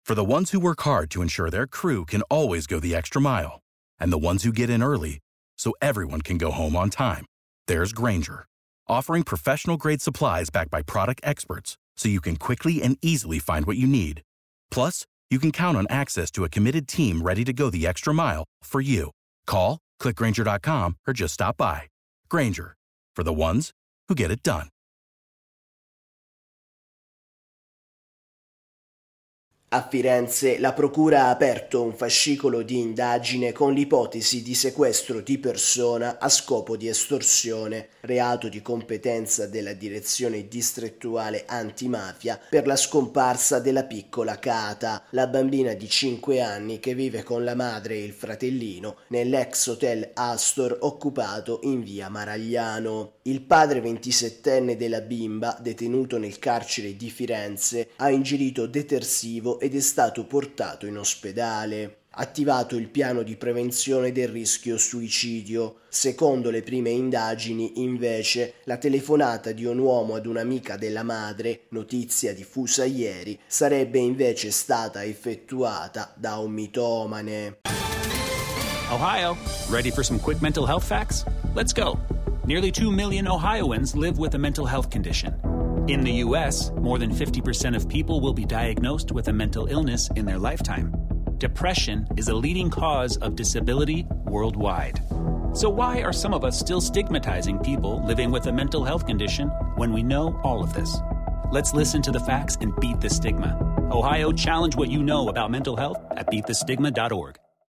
For the ones who work hard to ensure their crew can always go the extra mile, and the ones who get in early so everyone can go home on time, there's Grainger, offering professional-grade supplies backed by product experts so you can quickly and easily find what you need. Plus, you can count on access to a committed team ready to go the extra mile for you. Call, click Grainger.com, or just stop by. Grainger, for the ones who get it done. A Firenze la procura ha aperto un fascicolo di indagine con l'ipotesi di sequestro di persona a scopo di estorsione, reato di competenza della Direzione Distrettuale Antimafia per la scomparsa della piccola Cata, la bambina di 5 anni che vive con la madre e il fratellino nell'ex hotel Astor occupato in via Maragliano. Il padre 27enne della bimba, detenuto nel carcere di Firenze, ha ingerito detersivo ed è stato portato in ospedale. Attivato il piano di prevenzione del rischio suicidio. Secondo le prime indagini, invece, la telefonata di un uomo ad un'amica della madre, notizia diffusa ieri, sarebbe invece stata effettuata da un mitomane. Ohio, ready for some quick mental health facts? Let's go. Nearly 2 million Ohioans live with a mental health condition. In the U.S., more than 50% of people will be diagnosed with a mental illness in their lifetime. Depression is a leading cause of disability worldwide. So why are some of us still stigmatizing people living with a mental health condition when we know all of this? Let's listen to the facts and beat the stigma. Ohio, challenge what you know about mental health at beatthestigma.org.